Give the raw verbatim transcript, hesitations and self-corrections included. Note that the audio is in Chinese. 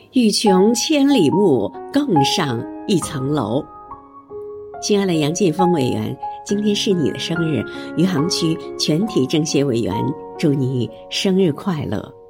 欲穷千里目，更上一层楼。亲爱的杨建峰委员，今天是你的生日，余杭区全体政协委员祝你生日快乐。